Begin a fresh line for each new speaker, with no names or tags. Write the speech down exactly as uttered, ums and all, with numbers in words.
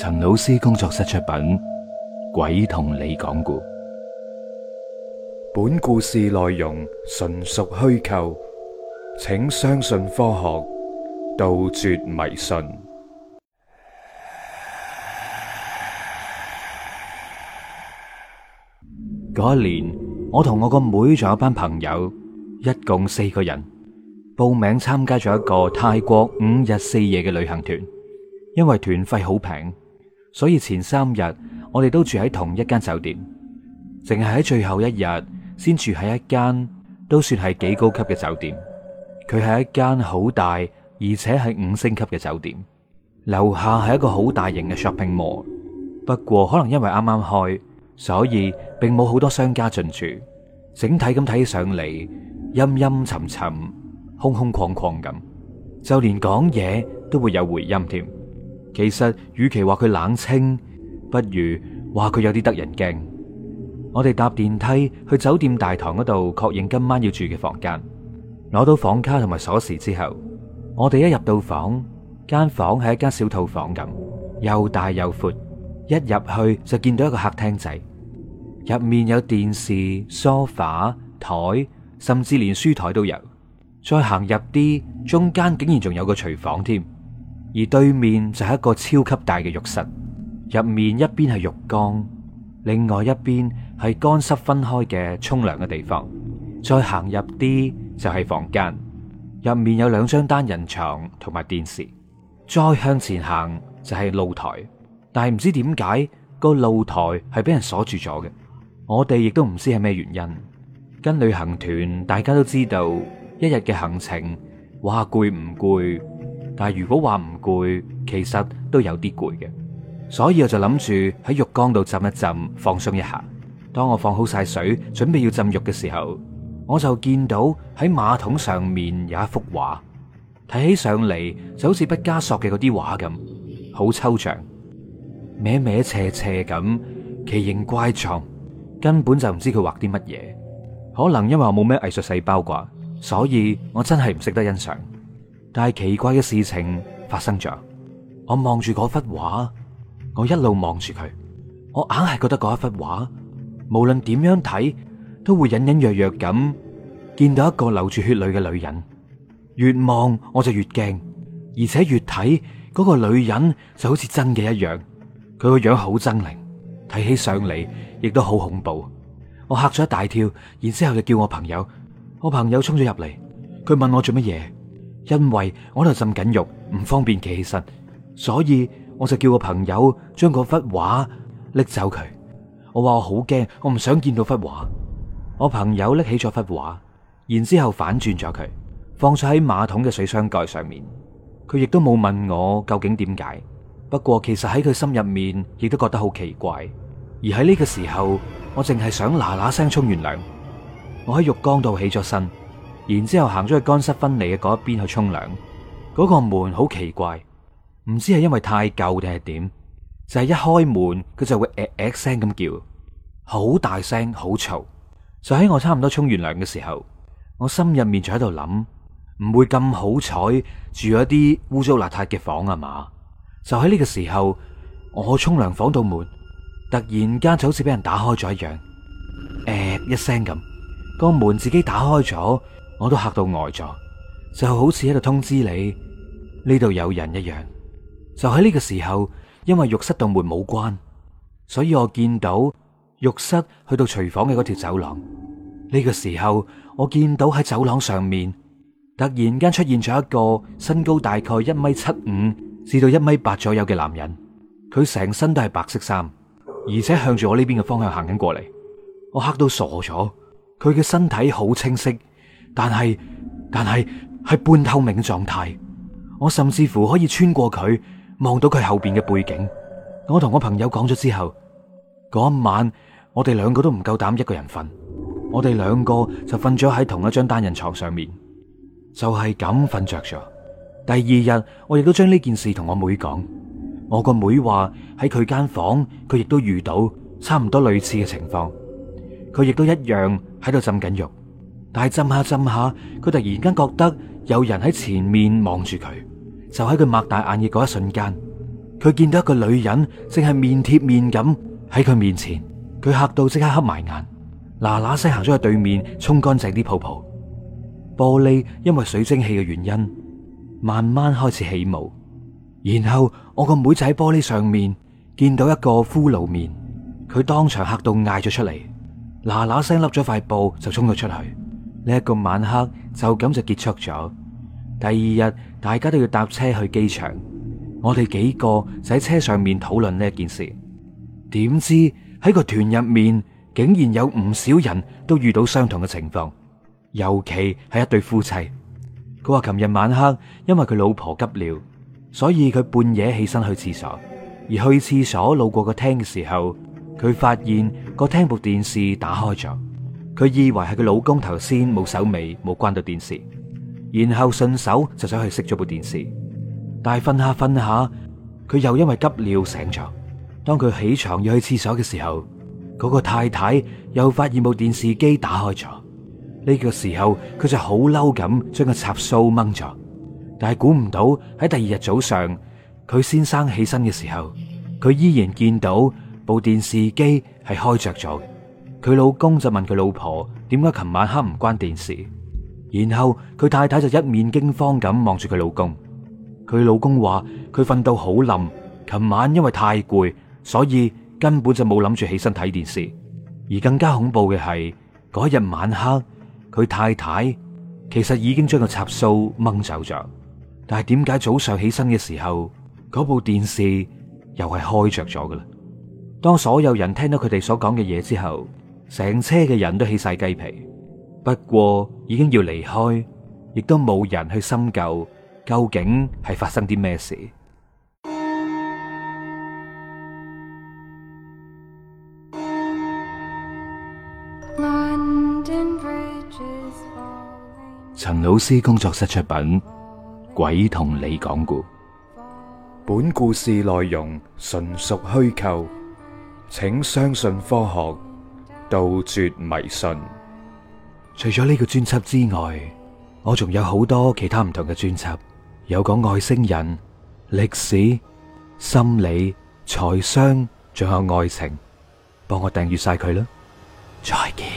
陳老師工作室出品《鬼同你講故》，本故事內容純屬虛構，請相信科學，杜絕迷信。嗰一年，我同我個妹仲有班朋友，一共四個人，報名參加咗一個泰國五日四夜嘅旅行團。因為團費好平，所以前三日我哋都住喺同一間酒店，淨係喺最後一日先住喺一間都算係幾高級嘅酒店。佢係一間好大而且係五星級嘅酒店，樓下係一個好大型嘅 shopping mall。不過可能因為啱啱開，所以並冇好多商家進駐，整體咁睇起上嚟陰陰沉沉、空空曠曠咁，就連講嘢都會有回音添。其實與其話佢冷清，不如話佢有啲得人驚。我哋搭電梯去酒店大堂嗰度確認今晚要住嘅房間，攞到房卡同埋鎖匙之後，我哋一入到房，間房係一間小套房咁，又大又闊。一入去就見到一個客廳仔，入面有電視、梳化、台，甚至連書台都有。再行入啲，中間竟然仲有個廚房添。而對面就係一個超級大嘅浴室，入面一邊係浴缸，另外一邊係乾濕分開嘅沖涼嘅地方。再行入啲就係房間，入面有兩張單人床同埋電視。再向前行就係露台，但係唔知點解個露台係俾人鎖住咗嘅。我哋亦都唔知係咩原因。跟旅行團大家都知道，一日嘅行程話攰唔攰？但係如果話唔攰，其實都有啲攰嘅，所以我就諗住喺浴缸度浸一浸，放鬆一下。當我放好晒水，準備要浸浴嘅時候，我就見到喺馬桶上面有一幅畫，睇起上嚟就好似畢加索嘅嗰啲畫咁，好抽象，歪歪斜斜咁，奇形怪狀，根本就唔知佢畫啲乜嘢。可能因為我冇咩藝術細胞啩，所以我真係唔識得欣賞。但係奇怪嘅事情發生咗，我望住嗰幅畫，我一路望住佢，我硬係覺得嗰一幅畫，無論點樣睇，都會隱隱約約咁見到一個流住血淚嘅女人。越望我就越驚，而且越睇嗰個女人就好似真嘅一樣，佢個樣好猙獰，睇起上嚟亦都好恐怖。我嚇咗一大跳，然之後就叫我朋友，我朋友衝咗入嚟，佢問我做乜嘢。因為我喺度浸緊浴，唔方便企起身，所以我就叫個朋友將嗰幅畫拎走佢。我話我好驚，我唔想見到幅畫。我朋友拎起咗幅畫，然之後反轉咗佢，放咗喺馬桶嘅水箱蓋上面。佢亦都冇問我究竟點解。不過其實喺佢心入面亦都覺得好奇怪。而喺呢個時候，我淨係想嗱嗱聲沖完涼。我喺浴缸度起咗身，然之後行咗去乾濕分離嘅嗰一邊去沖涼。嗰個門好奇怪，唔知係因為太舊定係點，就係一開門佢就會誒誒聲咁叫，好大聲好嘈。就喺我差唔多沖完涼嘅時候，我心入面就喺度諗，唔會咁好彩住咗啲污糟邋遢嘅房啊嘛。就喺呢個時候，我沖涼房度門突然間就好似俾人打開咗一樣，誒一聲咁，個門自己打開咗。我都嚇到呆咗，就好似喺度通知你呢度有人一樣。就喺呢個時候，因為浴室度門冇關，所以我見到浴室去到廚房嘅嗰條走廊。呢個時候，我見到喺走廊上面突然間出現咗一個身高大概一米七五至到一米八左右嘅男人，佢成身都係白色衫，而且向住我呢邊嘅方向行緊過嚟。我嚇到傻咗，佢嘅身體好清晰。但係，但係係半透明嘅狀態，我甚至乎可以穿過佢，望到佢後邊嘅背景。我同我朋友講咗之後，嗰一晚我哋兩個都唔夠膽一個人瞓，我哋兩個就瞓咗喺同一張單人床上面，就係咁瞓着咗。第二日我亦都將呢件事同我妹講，我個妹話喺佢間房佢亦都遇到差唔多類似嘅情況，佢亦都一樣喺度浸緊浴。但係浸下浸下，佢突然間覺得有人喺前面望住佢，就喺佢擘大眼嘅嗰一瞬間， 佢見到一個女人正係面貼面咁喺佢面前，佢嚇到即刻黑埋眼，嗱嗱聲行咗去對面沖乾淨啲泡泡。玻璃因為水蒸氣嘅原因，慢慢開始起霧。然後我個妹仔喺玻璃上面見到一個骷髏面，佢當場嚇到嗌咗出嚟，嗱嗱聲笠咗塊布就衝咗出去。呢一個晚黑就咁就結束咗。第二日大家都要搭車去機場，我哋幾個就喺車上面討論呢一件事。點知喺個團入面竟然有唔少人都遇到相同嘅情況，尤其係一對夫妻。佢話琴日晚黑因為佢老婆急尿，所以佢半夜起身去廁所，而去廁所路過個廳嘅時候，佢發現個廳部電視打開咗，佢以為係佢老公頭先冇手尾冇關到電視，然後順手就走去熄咗部電視。但係瞓下瞓下，佢又因為急尿醒咗。當佢起床要去廁所嘅時候，嗰個太太又發現部電視機打開咗。呢個時候佢就好嬲咁將個插蘇掹咗。但係估唔到喺第二日早上，佢先生起身嘅時候，佢依然見到部電視機係開着咗嘅。佢老公就問佢老婆點解琴晚黑唔關電視，然後佢太太就一面驚慌咁望住佢老公。佢老公話佢瞓到好冧，琴晚因為太攰，所以根本就冇諗住起身睇電視。而更加恐怖嘅係嗰日晚黑，佢太太其實已經將個插蘇掹走咗。但係點解早上起身嘅時候，嗰部電視又係開着咗嘅啦？當所有人聽到佢哋所講嘅嘢之後，成車嘅人都起晒雞皮。不過已經要離開，亦都冇人去深究究竟係發生啲咩事。陳老師工作室出品，鬼同你講故。本故事內容純屬虛構，請相信科學，杜絕迷信。除咗呢個專輯之外，我仲有好多其他唔同嘅專輯，有講外星人、歷史、心理、財商，仲有愛情。幫我訂閱晒佢啦，再見。